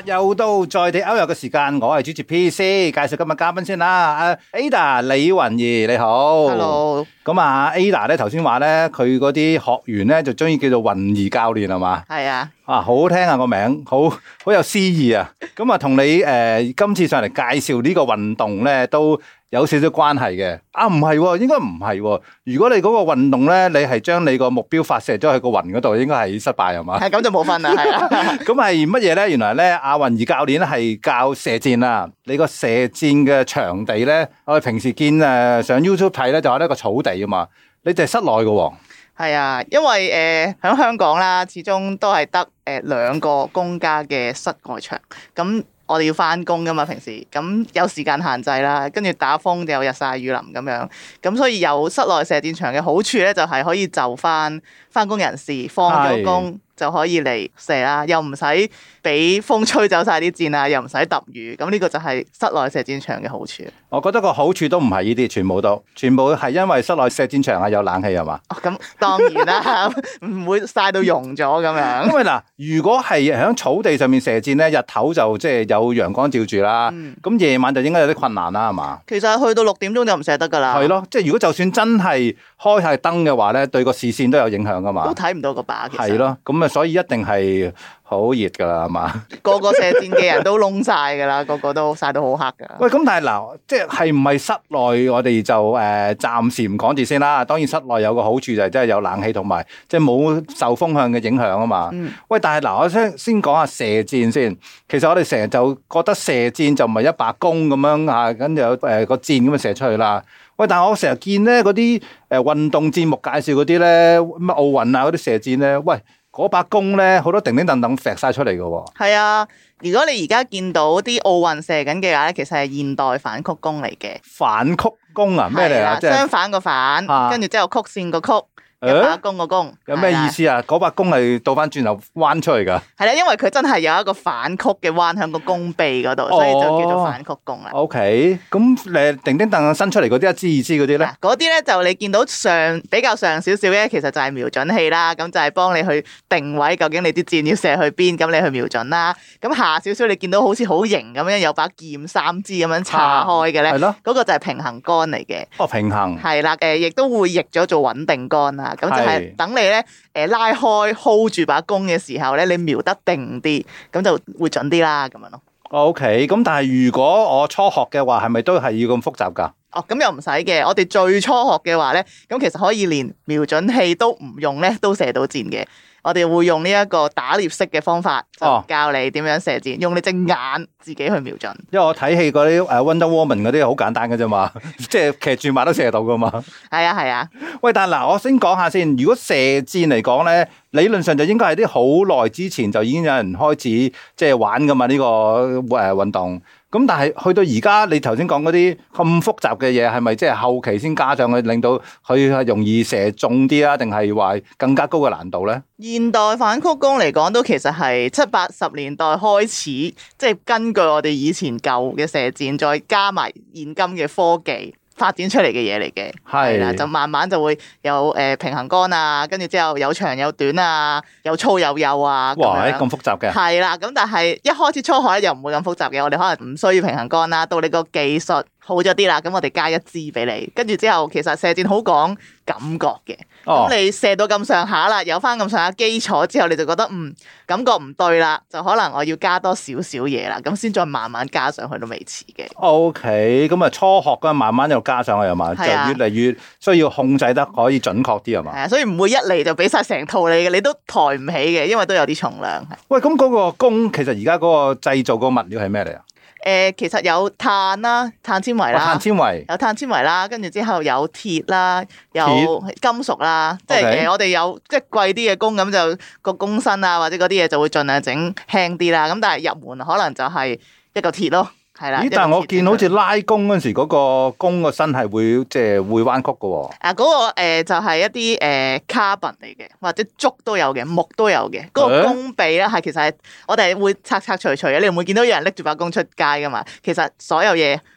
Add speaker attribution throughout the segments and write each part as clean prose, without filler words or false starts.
Speaker 1: 又到在地 Out 遊嘅時間，我係主持 PC， 介紹今日嘉賓先啦。Ada 李雲儀你好
Speaker 2: ，Hello。
Speaker 1: 咁啊 Ada 咧頭先話咧，佢嗰啲學員咧就中意叫做雲儀教練係嘛？
Speaker 2: 係啊。
Speaker 1: 啊，好好聽啊個名，好有詩意啊。咁啊，同你今次上嚟介紹呢個運動咧，都有少少關係嘅。啊，唔係喎，應該唔係喎。如果你嗰個運動咧，你係將你個目標發射咗去個雲嗰度，應該係失敗係嘛？係
Speaker 2: 咁就冇分啦，係啊。
Speaker 1: 咁係乜嘢咧？原來咧，阿雲儀教練咧係教射箭啊。你個射箭嘅場地咧，我哋平時見上 YouTube 睇咧，就係一個草地啊嘛。你就係室內嘅喎。
Speaker 2: 係啊，因為喺香港啦，始終都係得2個公家嘅室外場，咁我哋要翻工噶嘛，平時咁有時間限制啦，跟住打風就有日曬雨淋咁樣，咁所以有室內射箭場嘅好處咧，就係可以就翻工人士放咗工就可以嚟射啦，又唔使俾風吹走晒啲箭啊，又唔使揼雨，咁呢個就係室內射箭場嘅好處。我
Speaker 1: 覺得個好處都唔係呢啲，全部係因為室內射箭場係有冷氣係嘛？
Speaker 2: 咁當然啦，唔會曬到溶咗咁樣。
Speaker 1: 因為嗱，如果係喺草地上面射箭咧，日頭就即係有陽光照住啦，咁夜晚就應該有啲困難啦，係嘛？
Speaker 2: 其實去到6點鐘就唔射得㗎啦。
Speaker 1: 係咯，即係如果就算真係開晒燈嘅話咧，對個視線都有影響㗎嘛。
Speaker 2: 都睇唔到個靶。
Speaker 1: 係咯，咁啊，所以一定係好熱㗎啦，係嘛？
Speaker 2: 個個射箭嘅人都燶晒㗎啦，個個都曬到好黑㗎。
Speaker 1: 喂，咁但係嗱，即係唔係室內我哋就暫時唔講住先啦。當然室內有個好處就係真係有冷氣同埋即係冇受風向嘅影響啊嘛。喂，但係嗱，我先講下射箭先。其實我哋成日就覺得射箭就唔係一把弓咁樣嚇，跟住有個箭咁樣射出去啦。喂，但係我成日見咧嗰啲運動節目介紹嗰啲咧，乜奧運啊嗰啲射箭咧，喂，嗰把弓咧好多叮叮噹噹揈晒出嚟嘅喎。
Speaker 2: 係啊，如果你而家見到啲奧運射緊嘅話咧，其實係現代反曲弓嚟嘅。
Speaker 1: 反曲弓啊？咩嚟啊？
Speaker 2: 即係相反個反，跟住之後曲線個曲。一把弓個弓
Speaker 1: 有咩意思啊？嗰把弓係倒翻轉頭彎出嚟噶？
Speaker 2: 係啦，因為佢真係有一個反曲嘅彎向個弓臂嗰度，所以就叫做反曲弓啦。
Speaker 1: OK，咁你叮叮噹噹伸出嚟嗰啲一支二支嗰啲咧？
Speaker 2: 嗰啲咧就你見到比較上少少嘅，其實就係瞄準器啦。咁就係幫你去定位，究竟你啲箭要射去邊，咁你去瞄準啦。咁下少少你見到好似好型咁樣，有把劍3支咁樣叉開嘅咧，係咯，嗰個就係平衡杆嚟嘅。
Speaker 1: 哦，平衡
Speaker 2: 係啦，亦都會譯咗做穩定杆啦。咁就係等你咧，拉開 hold 住把弓嘅時候咧，你瞄得定啲，咁就會準啲啦，咁樣咯。
Speaker 1: OK，咁但係如果我初學嘅話，係咪都係要咁複雜㗎？
Speaker 2: 哦，咁又唔使嘅。我哋最初學嘅話咧，咁其實可以連瞄準器都唔用咧，都射到箭嘅。我哋會用呢一個打獵式嘅方法，就教你點樣射箭，用你隻眼自己去瞄準。
Speaker 1: 因為我睇戲嗰啲Wonder Woman 嗰啲好簡單嘅啫嘛，即係騎住馬都射到噶嘛。係啊係啊。喂，但係嗱，我先講下先。如果射箭嚟講咧，理論上就應該係啲好耐之前就已經有人開始即係玩噶嘛呢個運動。咁但係去到而家，你頭先講嗰啲咁複雜嘅嘢，係咪即係後期先加上去，令到佢係容易射中啲啊？定係話更加高嘅難度咧？
Speaker 2: 現代反曲弓嚟講，都其實係70、80年代開始，即係根據我哋以前舊嘅射箭，再加埋現今嘅科技發展出嚟嘅嘢嚟嘅。係啦，就慢慢就會有平衡杆啊，跟住之後有長有短啊，有粗有幼啊。
Speaker 1: 哇，咁複雜嘅。係
Speaker 2: 啦，咁但係一開始初學咧又唔會咁複雜嘅，我哋可能唔需要平衡杆啦，到你個技術好咗啲啦，咁我哋加1支俾你，跟住之後其實射箭好講感覺嘅。咁你射到咁上下啦，有翻咁上下基礎之後，你就覺得感覺唔對啦，就可能我要加多少少嘢啦，咁先再慢慢加上去都未遲嘅。
Speaker 1: OK，咁啊初學嘅慢慢又加上去係嘛，就越嚟越需要控制得可以準確啲係嘛。係啊，
Speaker 2: 所以唔會一嚟就俾晒成套你嘅，你都抬唔起嘅，因為都有啲重量。
Speaker 1: 喂，咁嗰個弓其實而家嗰個製造個物料係咩嚟啊？
Speaker 2: 其實有碳啦，碳纖維啦，有碳纖維啦，跟住之後有鐵啦，有金屬啦，即係我哋有即係貴啲嘅弓，咁就個弓身啊或者嗰啲嘢就會盡量整輕啲啦。咁但係入門可能就係一嚿鐵咯。係啦，
Speaker 1: 咦？但係我見好似拉弓嗰陣時，嗰個弓個身係會即係會彎曲嘅喎。
Speaker 2: 嗰個就係一啲carbon 嚟嘅，或者竹都有嘅，木都有嘅。嗰個弓臂咧係其實係我哋會拆除嘅，你唔會見到有人拎住把弓出街噶嘛。其實所有嘢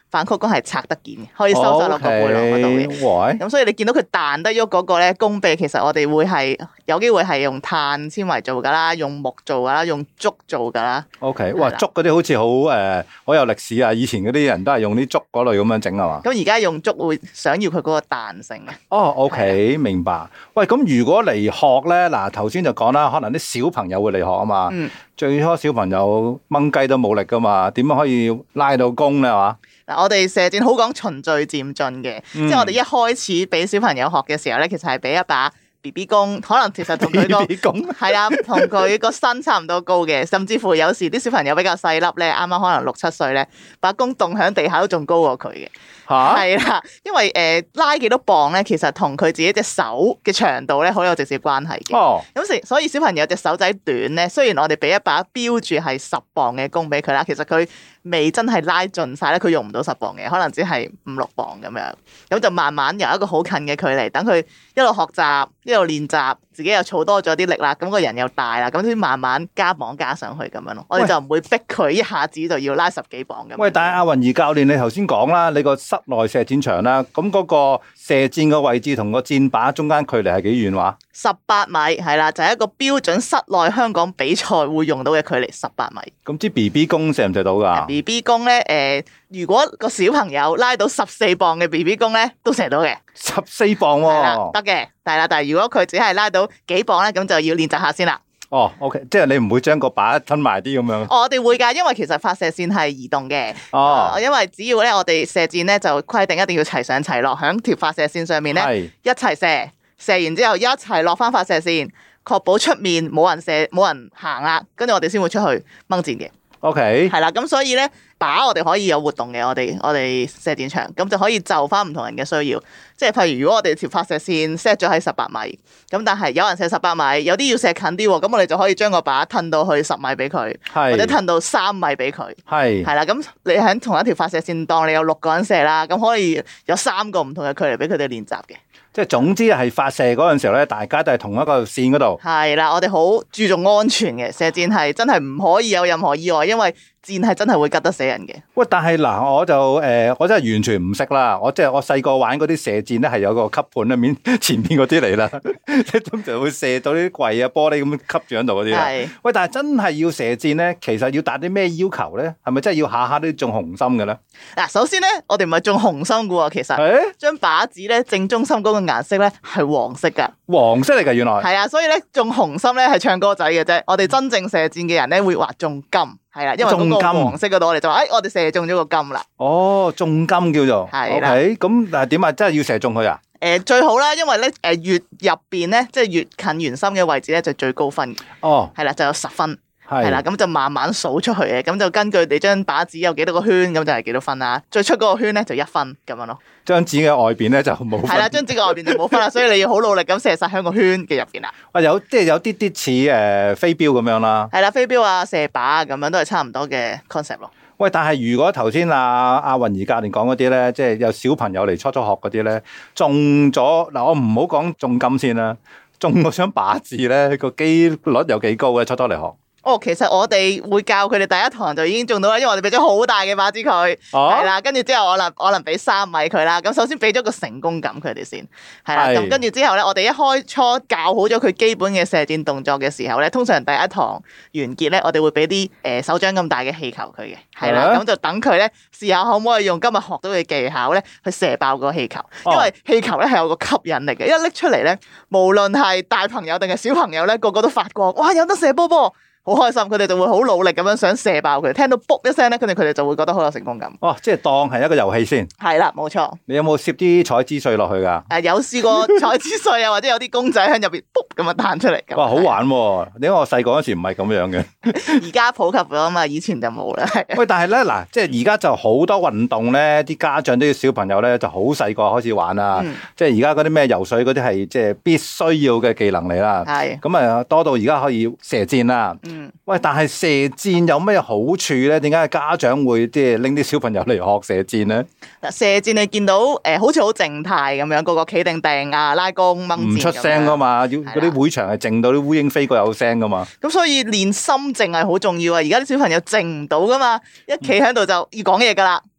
Speaker 2: 反曲弓係拆得件嘅，可以收晒落個背囊嗰度嘅。咁所以你見到佢彈得喐嗰個咧弓臂，其實我哋會係有機會係用碳纖維做噶啦，用木做噶啦，用竹做噶啦。
Speaker 1: OK， 哇，竹嗰啲好似好有歷史啊！以前嗰啲人都係用啲竹嗰類咁樣整啊嘛。咁
Speaker 2: 而家用竹會想要佢嗰個彈性嘅。
Speaker 1: 哦，OK，明白。喂，咁如果嚟學咧，嗱頭先就講啦，可能啲小朋友會嚟學啊嘛。最初小朋友掹雞都冇力噶嘛，點樣可以拉到弓咧？係嘛？
Speaker 2: 嗱，我哋射箭好講循序漸進嘅，即係我哋一開始俾小朋友學嘅時候咧，其實係俾一把 BB 弓，可能其實同佢個係啊，同佢個身差唔多高嘅，甚至乎有時啲小朋友比較細粒咧，啱啱可能6、7歲咧，把弓棟喺地下都仲高過佢嘅。係啦，因為拉幾多磅咧，其實同佢自己隻手嘅長度咧，好有直接關係嘅。咁所以小朋友隻手仔短咧，雖然我哋俾一把標住係10磅嘅弓俾佢啦，其實佢未真係拉盡晒咧，佢用唔到10磅嘅，可能只係5、6磅咁樣。咁就慢慢由一個好近嘅距離，等佢一路學習，一路練習，自己又儲多咗啲力啦，咁個人又大啦，咁先慢慢加磅加上去咁樣咯。我哋就唔會逼佢一下子就要拉10幾磅咁。喂，
Speaker 1: 但係阿雲怡教練，你頭先講啦，你個室內射箭場啦，咁嗰個射箭嘅位置同個箭靶中間距離係幾遠話
Speaker 2: ？18米係啦，就係一個標準室內香港比賽會用到嘅距離18米。
Speaker 1: 咁支 BB 弓射唔射到㗎
Speaker 2: ？BB 弓咧，如果個小朋友拉到14磅嘅 BB 弓咧，都射到嘅。
Speaker 1: 14磅喎？係啦，
Speaker 2: 得嘅，但係如果佢只係拉到幾磅咧，咁就要練習下先啦。
Speaker 1: 哦，OK， 即係你唔會將個靶吞埋啲咁樣。
Speaker 2: 我哋會㗎，因為其實發射線係移動嘅。因為只要咧我哋射箭咧就規定一定要齊上齊落，響條發射線上面咧一齊射，射完之後一齊落翻發射線，確保出面冇人行啦，跟住我哋先會出去掹箭嘅。
Speaker 1: OK，
Speaker 2: 係啦，咁所以咧靶我哋可以有活動嘅，我哋射箭場咁就可以就翻唔同人嘅需要，即係譬如如果我哋條發射線 set 咗喺18米，咁但係有人射18米，有啲要射近啲喎，咁我哋就可以將個靶褪到去10米俾佢，或者褪到3米俾佢，係啦，咁你喺同一條發射線當你有6個人射啦，咁可以有3個唔同嘅距離俾佢哋練習嘅。
Speaker 1: 即係總之係發射嗰陣時候咧，大家都係同一個線嗰度。
Speaker 2: 係啦，我哋好注重安全嘅，射箭係真係唔可以有任何意外，因為箭係真係會吉得死人嘅。喂，
Speaker 1: 但係嗱，我真係完全唔識啦。我細個玩嗰啲射箭咧，係有個吸盤喺面前面嗰啲嚟啦，即係通常會射到啲櫃啊、玻璃咁吸住喺度嗰啲啦。喂，但係真係要射箭咧，其實要達啲咩要求咧？係咪真係要下下都中紅心嘅咧？
Speaker 2: 嗱，首先咧，我哋唔係中紅心嘅喎，其實張靶子咧正中心嗰個顏色咧係黃色㗎。黃色嚟㗎，原來係啊，所以咧中紅心咧係唱歌仔嘅啫。我哋真正射箭嘅人咧會話中金。係啦，因為嗰個黃色嗰度我哋就話，我哋射中咗個金啦。哦，中金叫做。係啦。OK，咁但係點啊？真係要射中佢啊？最好啦，因為咧越入邊咧，即係越近圓心嘅位置咧，就最高分。哦。係啦，就有10分。係啦，咁就慢慢數出去嘅，咁就根據你張靶子有幾多個圈，咁就係幾多分啦。最出嗰個圈咧就1分咁樣咯。張紙嘅外邊咧就冇分。係啦，張紙嘅外邊就冇分啦，所以你要好努力咁射晒喺個圈嘅入邊啦。即係有啲似飛鏢咁樣啦。係啦，飛鏢啊、射靶啊咁樣都係差唔多嘅 concept 咯。喂，但係如果頭先阿雲怡教練講嗰啲咧，即係有小朋友嚟初學嗰啲咧，中咗嗱，我唔好講中金先啦，中嗰張靶子咧個機率有幾高嘅初嚟學？其實我哋會教佢哋第一堂就已經中到啦，因為我哋俾咗好大嘅靶子佢，係啦，跟住之後我能俾3米佢啦。咁首先俾咗個成功感佢哋先，係啦。咁跟住之後咧，我哋一開初教好咗佢基本嘅射箭動作嘅時候咧，通常第一堂完結咧，我哋會俾啲手掌咁大嘅氣球佢嘅，係啦，咁就等佢咧試下可唔可以用今日學到嘅技巧咧去射爆個氣球，因為氣球咧係有個吸引力嘅，一拎出嚟咧，無論係大朋友定係小朋友咧，個個都發光，哇！有得射波波。好開心，佢哋就會好努力咁樣想射爆佢，聽到卜一聲咧，跟住佢哋就會覺得好有成功感。即係當係一個遊戲先。係啦，冇錯。你有冇攝啲彩枝碎落去噶？有試過彩枝碎啊，或者有啲公仔喺入邊卜咁樣彈出嚟。哇，好玩喎！因為我細個嗰時唔係咁樣嘅。而家普及咗啊嘛，以前就冇啦。喂，但係咧嗱，即係而家就好多運動咧，啲家長都要小朋友咧就好細個開始玩啦。即係而家嗰啲咩游水嗰啲係即係必須要嘅技能嚟啦。係。咁啊，多到而家可以射箭啦。喂，但係射箭有咩好處咧？點解家長會即係拎啲小朋友嚟學射箭咧？嗱，射箭你見到好似好靜態咁樣，個個企定定啊，拉弓掹箭，唔出聲噶嘛，要嗰啲會場係靜到啲烏蠅飛過有聲噶嘛。咁所以練心靜係好重要啊！而家啲小朋友靜唔到噶嘛，一企喺度就要講嘢噶啦。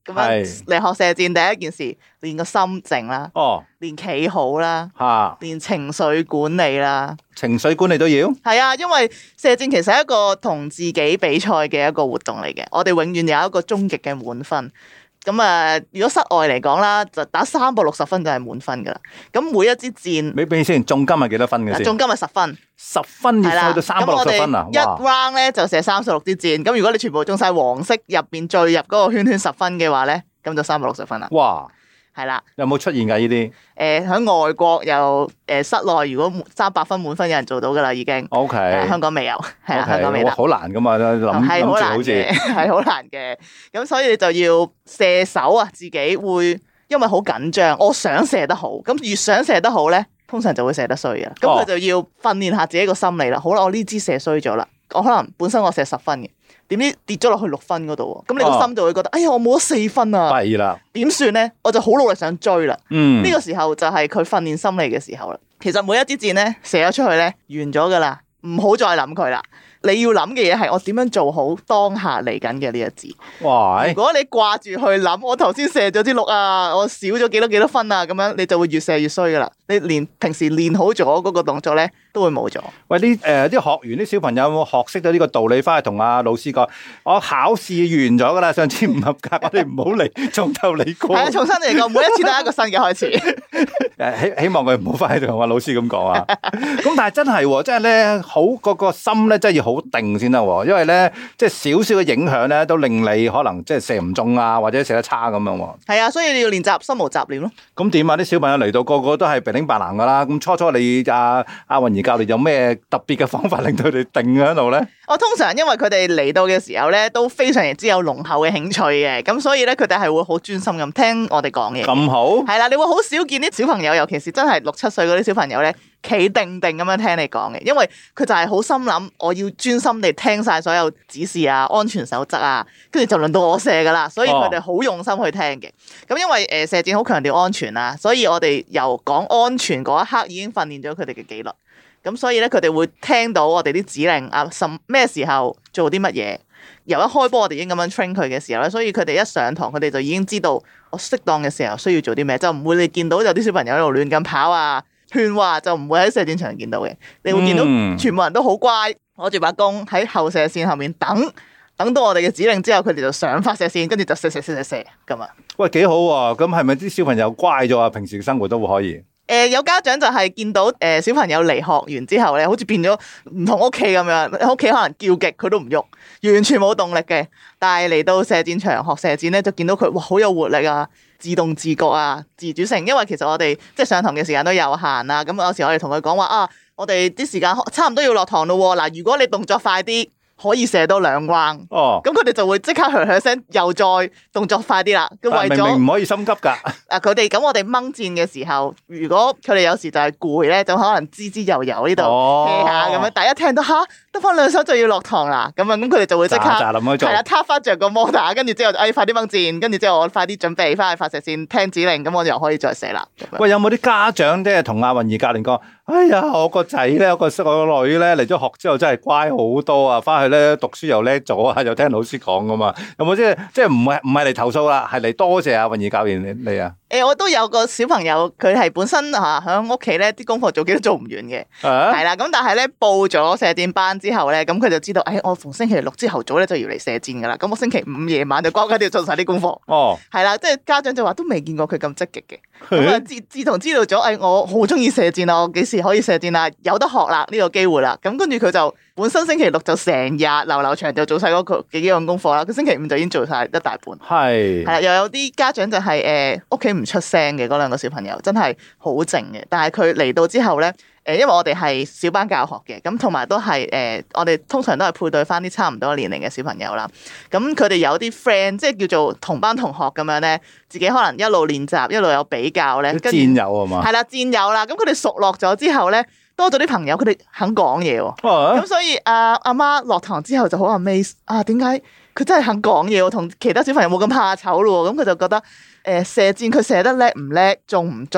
Speaker 2: 咁樣嚟學射箭，第一件事練個心靜啦，練企好啦，練情緒管理啦，
Speaker 1: 情緒管理都要。
Speaker 2: 係啊，因為射箭其實係一個同自己比賽嘅一個活動嚟嘅，我哋永遠有一個終極嘅滿分。咁啊，如果室外嚟講啦，就打360分就係滿分噶啦。咁每一支箭，
Speaker 1: 俾先，重金係幾多分嘅先？
Speaker 2: 重金係10分
Speaker 1: ，10分要去到360分啊！
Speaker 2: 一 round 咧就射36支箭，咁如果你全部中晒黃色入邊最入嗰個圈圈10分嘅話咧，咁就360分啦。
Speaker 1: 哇！
Speaker 2: 係啦，
Speaker 1: 有冇出現㗎呢啲？
Speaker 2: 喺外國又室內如果300分滿分有人做到㗎啦已經。
Speaker 1: OK。
Speaker 2: 香港未有，係啦，香港未得。
Speaker 1: 好難㗎嘛，諗住好似
Speaker 2: 係好難嘅。咁所以你就要射手啊，自己會因為好緊張，我想射得好，咁越想射得好咧，通常就會射得衰嘅。咁佢就要訓練下自己個心理啦。好啦，我呢支射衰咗啦，我可能本身我射10分嘅。點知跌咗落去6分嗰度喎，咁你個心就會覺得，哎呀，我冇咗4分啊，
Speaker 1: 弊啦，
Speaker 2: 點算咧？我就好努力想追啦。
Speaker 1: 呢
Speaker 2: 個時候就係佢訓練心理嘅時候啦。其實每一支箭咧射咗出去咧，完咗噶啦，唔好再諗佢啦。你要諗嘅嘢係我點樣做好當下嚟緊嘅呢一支。
Speaker 1: 哇！
Speaker 2: 如果你掛住去諗，我頭先射咗支6啊，我少咗幾多分啊，咁樣你就會越射越衰噶啦。你連平時練好咗嗰個動作咧，都會冇咗。
Speaker 1: 喂，啲學員啲小朋友有冇學識到呢個道理，翻去同阿老師講？我考試完咗噶啦，上次唔合格，我哋唔好嚟，從頭嚟過。係啊，
Speaker 2: 重新嚟過，每一次都係一個新嘅開始。
Speaker 1: 希望佢唔好翻去同阿老師咁講啊。咁但係真係，即係咧好個心咧，真係要好定先得。因為咧，即係少少嘅影響咧，都令你可能即係射唔中啊，或者射得差咁樣。
Speaker 2: 係啊，所以你要練習心無雜念咯。
Speaker 1: 咁點啊？啲小朋友嚟到個個都係鼻頂白藍噶啦。咁初初你阿韻儀教練有咩特別嘅方法令到佢哋定喺度咧？
Speaker 2: 我通常因為佢哋嚟到嘅時候咧，都非常之有濃厚嘅興趣嘅，咁所以咧佢哋係會好專心咁聽我哋講嘢。
Speaker 1: 咁好？
Speaker 2: 係啦，你會好少見啲小朋友，尤其是真係6、7歲嗰啲小朋友咧，企定定咁樣聽你講嘅，因為佢就係好心諗，我要專心地聽晒所有指示啊、安全守則啊，跟住就輪到我射噶啦，所以佢哋好用心去聽嘅。咁因為射箭好強調安全啊，所以我哋由講安全嗰一刻已經訓練咗佢哋嘅紀律。咁所以咧，佢哋會聽到我哋啲指令啊，咩時候做啲乜嘢。由一開波我哋已經咁樣 train 佢嘅時候咧，所以佢哋一上堂，佢哋就已經知道我適當嘅時候需要做啲咩，就唔會你見到有啲小朋友喺度亂咁跑啊、勸話，就唔會喺射箭場見到嘅。你會見到全部人都好乖，攞住把弓喺後射線後面等到我哋嘅指令之後，佢哋就上發射線，跟住就射咁啊。喂，
Speaker 1: 幾好喎！咁係咪啲小朋友乖咗啊？平時嘅生活都會可以。
Speaker 2: 有家長就係見到小朋友嚟學完之後咧，好似變咗唔同屋企咁樣，屋企可能叫極佢都唔喐，完全冇動力嘅。但係嚟到射箭場學射箭咧，就見到佢哇好有活力啊，自動自覺啊，自主性。因為其實我哋即係上堂嘅時間都有限啊，咁有時我哋同佢講話啊，我哋啲時間差唔多要落堂咯喎。嗱，如果你動作快啲，可以射多2 round，咁佢哋就會即刻噓聲，又再動作快啲啦。咁為咗
Speaker 1: 明明唔可以心急㗎。
Speaker 2: 佢哋咁我哋掹箭嘅時候，如果佢哋有時就係攰咧，就可能滋悠悠呢度 hea 下咁樣。第一聽到嚇得翻2手就要落堂啦，咁佢哋就會即刻係啦，撻翻着個摩打，跟住之後快啲掹箭，跟住之後我快啲準備翻去發射線聽指令，咁我又可以再射啦。
Speaker 1: 喂，有冇啲家長即係同阿韻儀教練講？哎呀，我個仔咧，我個女咧嚟咗學之後真係乖好多啊！翻去咧讀書又叻咗啊，又聽老師講噶嘛。有冇即係唔係嚟投訴啦，係嚟多謝阿韻儀教練你啊？
Speaker 2: 我都有個小朋友，佢係本身喺屋企咧啲功課做幾都做唔完嘅，係啦。咁但係咧報咗射箭班之後咧，咁佢就知道，我逢星期6朝頭早咧就要嚟射箭噶啦。咁我星期5夜晚就乖乖哋做晒啲功課。係啦，即係家長就話都未見過佢咁積極嘅。咁啊，自從知道咗，我好中意射箭啊，我幾時可以射箭啊？有得學啦，呢個機會啦。咁跟住佢就本身星期6就成日流長就做晒嗰個幾樣功課啦。佢星期5就已經做晒一大半。係啦，又有啲家長就係屋企唔出聲嘅嗰2個小朋友，真係好靜嘅。但係佢嚟到之後咧，因為我哋係小班教學嘅，咁同埋都係我哋通常都係配對翻啲差唔多年齡嘅小朋友啦。咁佢哋有啲 friend，即係叫做同班同學咁樣咧，自己可能一路練習，一路有比較咧。
Speaker 1: 戰友啊嘛。係啦，
Speaker 2: 戰友啦。咁佢哋熟絡咗之後咧，多咗啲朋友，佢哋肯講嘢喎。咁所以阿媽落堂之後就好 amaze 啊！點解佢真係肯講嘢喎？同其他小朋友冇咁怕醜咯喎。咁佢就覺得射箭佢射得叻唔叻，中唔中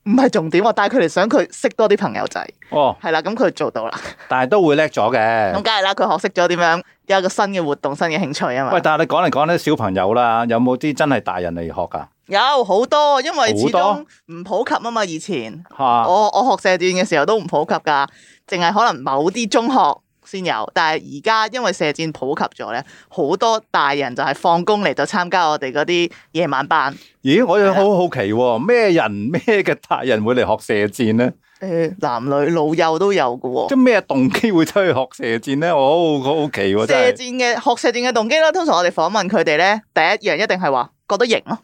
Speaker 2: 唔係重點，我帶佢哋想佢識多啲朋友仔。
Speaker 1: 哦，
Speaker 2: 係啦，咁佢做到啦。
Speaker 1: 但係都會叻咗嘅。
Speaker 2: 咁梗係啦，佢學識咗點樣有一個新嘅活動、新嘅興趣啊嘛。
Speaker 1: 喂，但係你講嚟講啲小朋友啦，有冇啲真係大人嚟學㗎？
Speaker 2: 有好多，因為始終唔普及啊嘛。以前我學射箭嘅時候都唔普及㗎，淨係可能某啲中學先有。但係而家因為射箭普及咗咧，好多大人就係放工嚟就參加我哋嗰啲夜晚班。
Speaker 1: 咦，我又好好奇喎，咩人咩嘅大人會嚟學射箭咧？
Speaker 2: 男女老幼都有㗎喎。
Speaker 1: 即係咩動機會出去學射箭咧？我好好奇喎，真係。
Speaker 2: 學射箭嘅動機啦，通常我哋訪問佢哋咧，第一樣一定係話覺得型咯。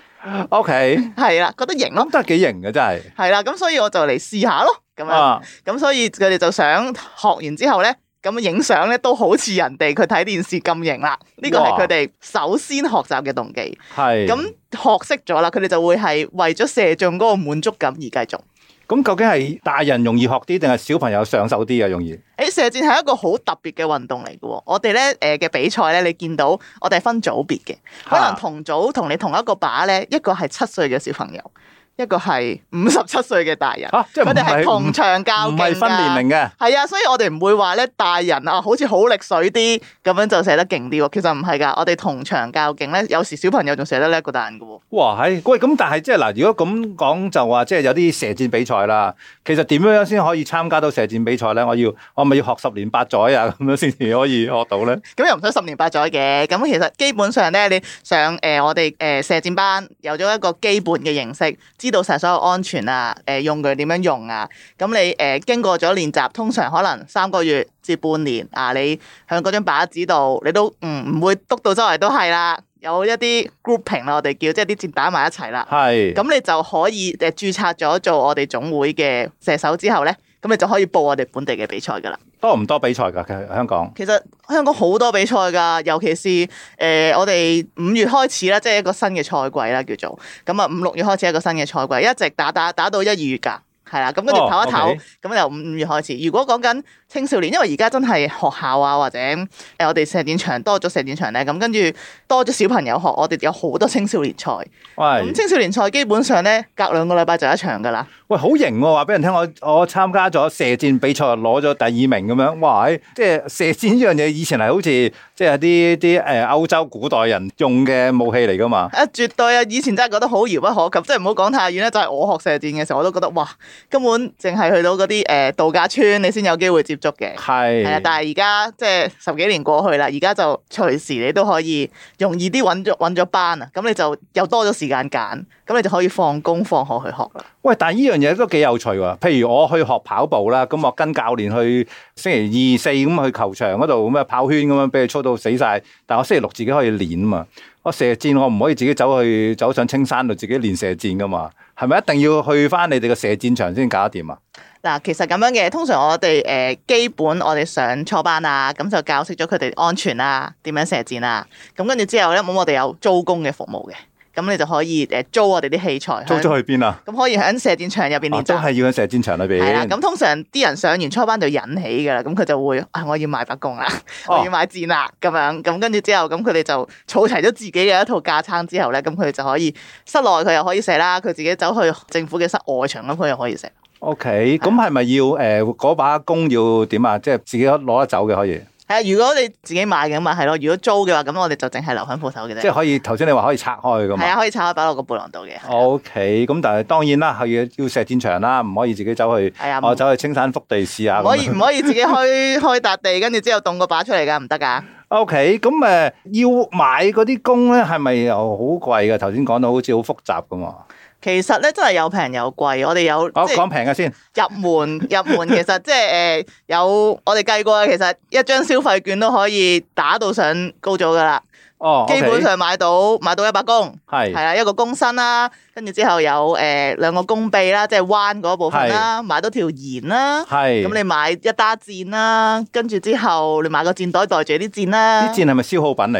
Speaker 1: OK，
Speaker 2: 係啦，覺得型咯，
Speaker 1: 咁都係幾型嘅真係。
Speaker 2: 係啦，咁所以我就嚟試下咯，咁樣，咁所以佢哋就想學完之後咧，咁影相咧都好似人哋佢睇電視咁型啦。呢個係佢哋首先學習嘅動機。係。咁學識咗啦，佢哋就會係為咗射中嗰個滿足感而繼續。
Speaker 1: 咁究竟係大人容易學啲，定係小朋友上手啲啊？容易？
Speaker 2: 射箭係一個好特別嘅運動嚟嘅喎。我哋咧嘅比賽咧，你見到我哋係分組別嘅，可能同組同你同一個靶咧，一個係7歲嘅小朋友，一個係57歲嘅大人。
Speaker 1: 即係
Speaker 2: 佢哋係同場較勁㗎，
Speaker 1: 唔係分年齡嘅。係
Speaker 2: 啊，所以我哋唔會話咧大人啊，好似好力水啲咁樣就射得勁啲喎。其實唔係㗎，我哋同場較勁咧，有時小朋友仲射得叻過大人㗎喎。
Speaker 1: 哇，係喂，咁但係即係嗱，如果咁講就話，即係有啲射箭比賽啦。其實點樣先可以參加到射箭比賽咧？我咪要學10年8載啊，咁樣先至可以學到咧？
Speaker 2: 咁又唔使10年8載嘅。咁其實基本上咧，你上我哋射箭班有咗一個基本嘅認識，知道晒所有安全啊，用具點樣用啊。咁你經過咗練習，通常可能3個月至半年啊，你向嗰張靶子度，你都唔會篤到周圍都係啦。有一啲 grouping 啦，我哋叫即係啲箭打埋一齊啦。係。咁你就可以註冊咗做我哋總會嘅射手之後咧，咁你就可以報我哋本地嘅比賽㗎啦。多唔多比賽㗎？香港？其實香港好多比賽㗎，尤其是我哋5月開始啦，即係一個新嘅賽季啦，叫做咁啊，5、6月開始一個新嘅賽季，一直打到1、2月㗎。係啦，咁跟住唞一唞，咁由5月開始。如果講緊青少年，因為而家真係學校啊，或者我哋射箭場多咗射箭場咧，咁跟住多咗小朋友學，我哋有好多青少年賽。咁青少年賽基本上咧，隔2個禮拜就一場㗎啦。喂，好型喎！話俾人聽，我參加咗射箭比賽，攞咗第2名咁樣。哇！即係射箭呢樣嘢，以前係好似即係啲歐洲古代人用嘅武器嚟㗎嘛。絕對啊！以前真係覺得好遙不可及，即係唔好講太遠咧。就係我學射箭嘅時候，我都覺得哇！根本淨係去到嗰啲度假村，你先有機會接觸嘅。係啊，但係而家即係10幾年過去啦，而家就隨時你都可以容易啲揾咗班啊，咁你就又多咗時間揀，咁你就可以放工放學去學啦。喂，但係呢樣嘢都幾有趣喎。譬如我去學跑步啦，咁我跟教練去星期2、4咁去球場嗰度咁跑圈咁樣，俾佢操到死晒。但我星期6自己可以練啊嘛。我射箭我唔可以自己走上青山度自己練射箭噶嘛。係咪一定要去翻你哋嘅射箭場先搞得掂啊？嗱，其實咁樣嘅，通常我哋基本我哋上初班啊，咁就教識咗佢哋安全啊，點樣射箭啊，咁跟住之後咧，咁我哋有租工嘅服務嘅。咁你就可以租我哋啲器材。租咗去邊啊？咁可以喺射箭場入邊練習。都係要喺射箭場裏邊。係啦，咁通常啲人上完初班就引起㗎啦，咁佢就會我要買把弓啦，我要買箭啦，咁樣咁跟住之後，咁佢哋就儲齊咗自己嘅一套架撐之後咧，咁佢哋就可以室內佢又可以射啦，佢自己走去政府嘅室外場咁佢又可以射。OK，咁係咪要嗰把弓要點啊？即係自己攞得走嘅可以。係啊，如果你自己買嘅嘛係咯，如果租嘅話，咁我哋就淨係留喺鋪頭嘅啫。即係可以，頭先你話可以拆開㗎嘛？係啊，可以拆開擺落個背囊度嘅。OK，咁但係當然啦，係要射箭場啦，唔可以自己走去。係啊，我走去青山福地試下。唔可以自己開笪地，跟住之後動個靶出嚟㗎，唔得㗎。OK，咁要買嗰啲弓咧，係咪又好貴㗎？頭先講到好似好複雜㗎嘛。其實咧真係有平有貴，我哋有講平嘅先。入門其實即係有我哋計過嘅，其實一張消費券都可以打到上高組噶啦。哦，基本上買到一把弓，係啦，一個弓身啦，跟住之後有2個弓臂啦，即係彎嗰部分啦，買到條弦啦，係咁你買一打箭啦，跟住之後你買個箭袋袋住啲箭啦。啲箭係咪消耗品嚟㗎？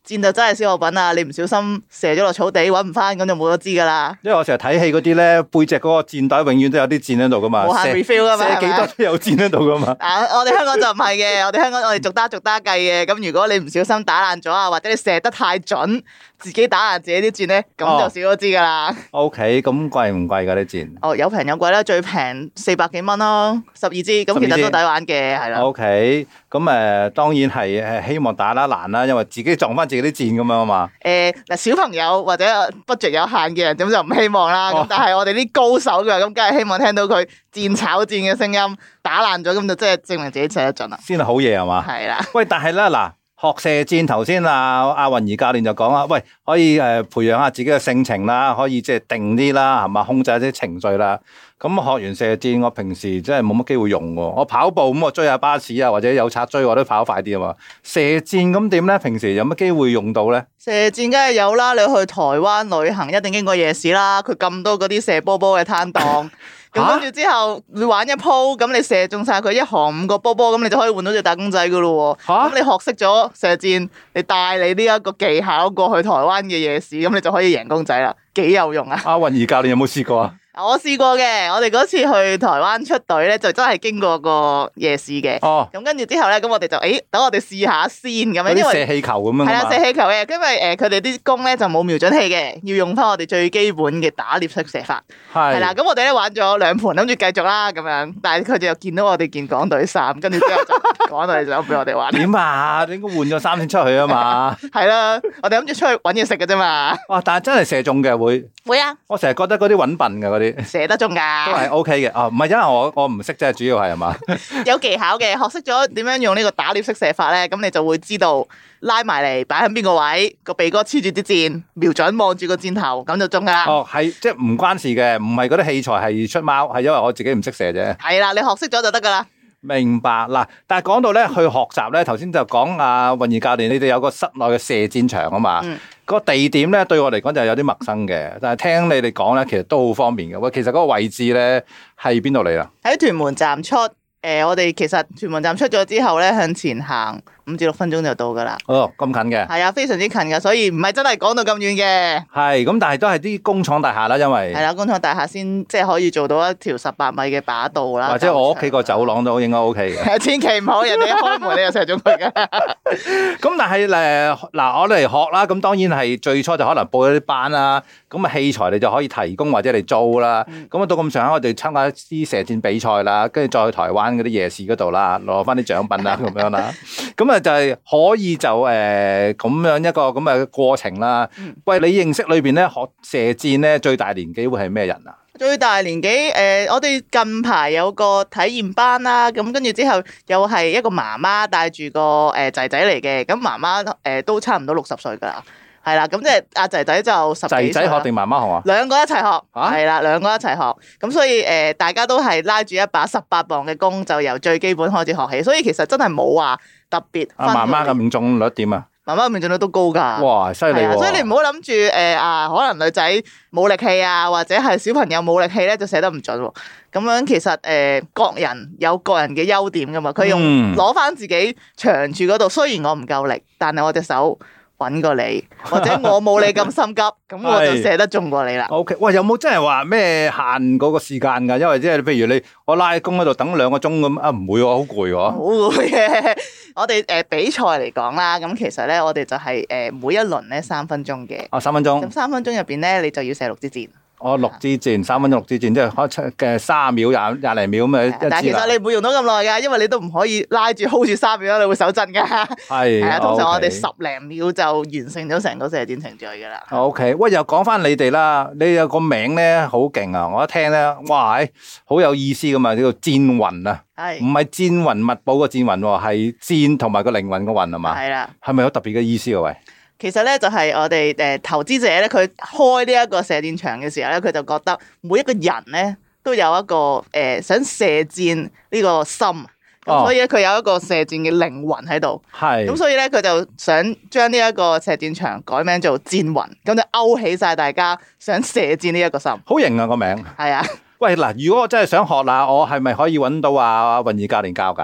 Speaker 2: 箭就真係消耗品啊！你唔小心射咗落草地，搵唔翻，咁就冇得知噶啦。
Speaker 1: 因為我成日睇戲嗰啲咧，背脊嗰個箭袋永遠都有啲箭喺度噶嘛，
Speaker 2: 無限 refill 噶嘛，
Speaker 1: 射幾多都有箭喺度噶嘛。
Speaker 2: 我哋香港就唔係嘅，我哋香港我哋逐打計嘅。咁如果你唔小心打爛咗啊，或者你射得太準，自己打爛自己啲箭咧，咁就少咗支噶啦。
Speaker 1: OK， 咁貴唔貴噶啲箭？
Speaker 2: 有平有貴啦，最平400幾蚊咯，12支，咁其實都抵玩嘅，係啦。
Speaker 1: OK，咁當然係希望打得爛啦，因為自己撞翻自己啲箭咁樣啊嘛。
Speaker 2: 嗱，小朋友或者 budget 有限嘅人，咁就唔希望啦。咁但係我哋啲高手嘅，咁梗係希望聽到佢箭炒箭嘅聲音，打爛咗，咁就即係證明自己射得準啦。
Speaker 1: 先係好嘢係嘛？
Speaker 2: 係啦。
Speaker 1: 喂，但係咧嗱。學射箭頭先阿雲儀教練就講啦，喂，可以培養下自己嘅性情啦，可以即係定啲啦，係嘛，控制一啲情緒啦。咁學完射箭，我平時真係冇乜機會用喎。我跑步咁，我追下巴士啊，或者有賊追，我都跑快啲啊嘛。射箭咁點咧？平時有乜機會用到咧？
Speaker 2: 射箭梗係有啦，你去台灣旅行一定經過夜市啦，佢咁多嗰啲射波波嘅攤檔。咁跟住之後，你玩一鋪，咁你射中晒佢一行5個波波，咁你就可以換到隻打工仔噶咯喎。咁你學識咗射箭，你帶你呢一個技巧過去台灣嘅夜市，咁你就可以贏公仔啦，幾有用啊！
Speaker 1: 阿雲儀教練有冇試過啊？
Speaker 2: 我試過嘅，我哋嗰次去台灣出隊咧，就真係經過個夜市嘅。咁跟住之後咧，咁我哋就等我哋試下先咁樣，因為
Speaker 1: 射氣球咁樣。
Speaker 2: 係啦，射氣球嘅，因為佢哋啲弓咧就冇瞄準器嘅，要用翻我哋最基本嘅打獵式射法。係啦，咁我哋咧玩咗2盤，諗住繼續啦咁樣，但係佢哋又見到我哋件港隊衫，跟住之後就港隊就俾我哋玩。點
Speaker 1: 啊？你應該換咗衫先出去啊嘛。
Speaker 2: 係啦，我哋諗住出去搵嘢食嘅啫嘛。
Speaker 1: 哇！但係真係射中嘅會
Speaker 2: 啊！
Speaker 1: 我成日覺得嗰啲搵笨嘅嗰啲。
Speaker 2: 射得中㗎，
Speaker 1: 都係 OK 嘅。唔係因為我唔識啫，主要係嘛？
Speaker 2: 有技巧嘅，學識咗點樣用呢個打獵式射法咧，咁你就會知道拉埋嚟擺喺邊個位，個鼻哥黐住啲箭，瞄準望住個箭頭，咁就中㗎啦。
Speaker 1: 係即係唔關事嘅，唔係嗰啲器材係出貓，係因為我自己唔識射啫。
Speaker 2: 係啦，你學識咗就得㗎啦。
Speaker 1: 明白嗱，但係講到咧去學習咧，頭先就講阿雲儀教練，你哋有個室內嘅射箭場啊嘛。個地點咧對我嚟講就有啲陌生嘅，但係聽你哋講咧，其實都好方便嘅。喂，其實嗰個位置咧係邊度嚟啦？
Speaker 2: 喺屯門站出。我哋其實屯門站出咗之後咧，向前行5至6分鐘就到噶啦。
Speaker 1: 哦，咁近嘅。
Speaker 2: 係啊，非常之近噶，所以唔係真係講到咁遠嘅。
Speaker 1: 係，咁但係都係啲工廠大廈啦，因為係
Speaker 2: 啦，工廠大廈先即係可以做到一條18米嘅靶道啦。
Speaker 1: 或者我屋企個走廊都應該 OK 嘅。
Speaker 2: 千祈唔好人哋一開門你就射中佢噶。
Speaker 1: 咁但係嗱，我哋嚟學啦，咁當然係最初就可能報咗啲班啦，咁啊器材你就可以提供或者嚟租啦。咁啊到咁上下，我哋參加一啲射箭比賽啦，跟住再去台灣嗰啲夜市嗰度啦，攞翻啲獎品啦，咁樣啦。咁啊就係可以就咁樣一個咁嘅過程啦。喂，你認識裏邊咧學射箭咧最大年紀會係咩人啊？
Speaker 2: 最大年紀我哋近排有個體驗班啦，咁跟住之後又係一個媽媽帶住個仔仔嚟嘅，咁媽媽都差唔多60歲噶啦。係啦，咁即係阿仔仔就10幾歲。仔仔學定媽媽學啊？兩個一齊學，係啦，兩個一齊學。咁所以大家都係拉住一把18磅嘅弓，就由最基本開始學起。所以其實真係冇話特別。媽媽嘅命中率點啊？媽媽嘅命中率都高㗎。哇，犀利喎！所以你唔好諗住可能女仔冇力氣啊，或者係小朋友冇力氣咧，就射得唔準喎。咁樣其實各人有各人嘅優點㗎嘛。佢用攞翻自己長處嗰度，雖然我唔夠力，但係我隻手揾過你，或者我冇你咁心急，咁我就射得中過你啦。OK，
Speaker 1: 喂，有冇真係話咩限嗰個時間㗎？因為即係譬如我拉弓喺度等2個鐘咁啊，唔會喎，好攰喎。好
Speaker 2: 攰嘅。我哋比賽嚟講啦，咁其實咧我哋就係每一輪咧3分鐘嘅。3分鐘。咁3分鐘入邊咧，你就要射6支箭。6支箭，3分鐘6支箭，即係開30秒、廿零秒咁樣一支。但係其實你唔會用到咁耐㗎，因為你都唔可以拉住 hold 住3秒，你會手震㗎。係啊，通常我哋10零秒就完成咗成個射箭程序㗎啦。OK， 喂，又講翻你哋啦，你有個名咧好勁啊！我一聽咧，哇，好有意思㗎嘛，叫做箭魂啊。係。唔係戰雲密寶個戰雲喎，係箭同埋個靈魂個魂係嘛？係啦。係咪有特別嘅意思啊？喂？其實咧就係我哋投資者咧，佢開呢一個射箭場嘅時候咧，佢就覺得每一個人咧都有一個想射箭呢個心，咁所以咧佢有一個射箭嘅靈魂喺度。係。咁所以咧佢就想將呢一個射箭場改名做箭魂，咁就勾起晒大家想射箭呢一個心。好型啊個名。係啊。喂嗱，如果我真係想學啦，我係咪可以揾到阿雲儀教練教㗎？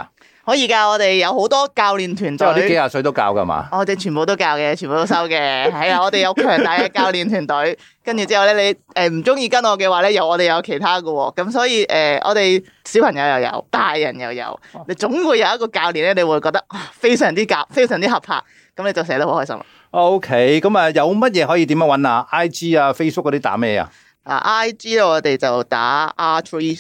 Speaker 2: 可以㗎，我哋有好多教練團隊，
Speaker 1: 即係我啲幾廿歲都教㗎嘛？
Speaker 2: 我哋全部都教嘅，全部都收嘅。係啊，我哋有強大嘅教練團隊。跟住之後咧，你唔中意跟我嘅話咧，我哋有其他嘅喎。咁所以我哋小朋友又有，大人又有，你總會有一個教練咧，你會覺得非常之夾，非常之合拍，咁你就寫得好開心啦。
Speaker 1: OK，咁啊有乜嘢可以點樣揾啊 ？IG 啊 Facebook 嗰啲打咩啊
Speaker 2: ？IG 咧我哋就打 R3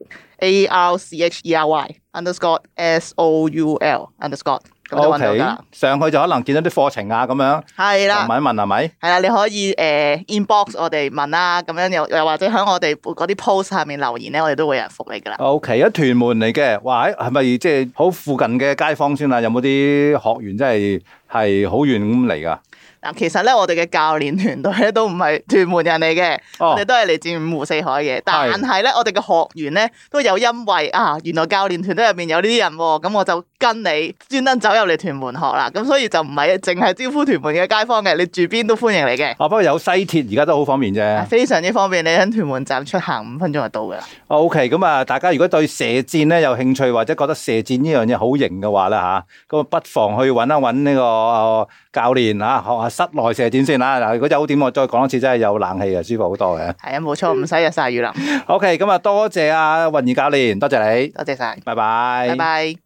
Speaker 2: Soul，ARCHERY_SOUL_。咁就揾到㗎啦。
Speaker 1: 上去就可能見到啲課程啊咁樣。
Speaker 2: 係啦。
Speaker 1: 問一問係咪？
Speaker 2: 係啦，你可以inbox 我哋問啦，咁樣又或者喺我哋嗰啲 post 下面留言咧，我哋都會有人覆你㗎啦。
Speaker 1: OK，一屯門嚟嘅，哇！係咪即係好附近嘅街坊先啊？有冇啲學員真係好遠咁嚟㗎？
Speaker 2: 嗱，其實咧，我哋嘅教練團隊咧都唔係屯門人嚟嘅，我哋都係嚟自五湖四海嘅。但係咧，我哋嘅學員咧都有因為原來教練團隊入邊有呢啲人喎，咁我就跟你專登走入嚟屯門學啦。咁所以就唔係淨係招呼屯門嘅街坊嘅，你住邊都歡迎你嘅。
Speaker 1: 不過有西鐵而家都好方便啫，
Speaker 2: 非常之方便，你喺屯門站出行5分鐘就到㗎啦。
Speaker 1: OK，咁啊，大家如果對射箭咧有興趣或者覺得射箭呢樣嘢好型嘅話咧咁不妨去揾一揾呢個教練學下室內射箭先啦。嗱，如果有點我再講一次，真係有冷氣嘅，舒服好多嘅。
Speaker 2: 係啊，冇錯，唔使日曬雨淋。
Speaker 1: OK，咁啊，多謝阿韻儀教練，多謝你，
Speaker 2: 多謝晒，
Speaker 1: 拜拜，
Speaker 2: 拜拜。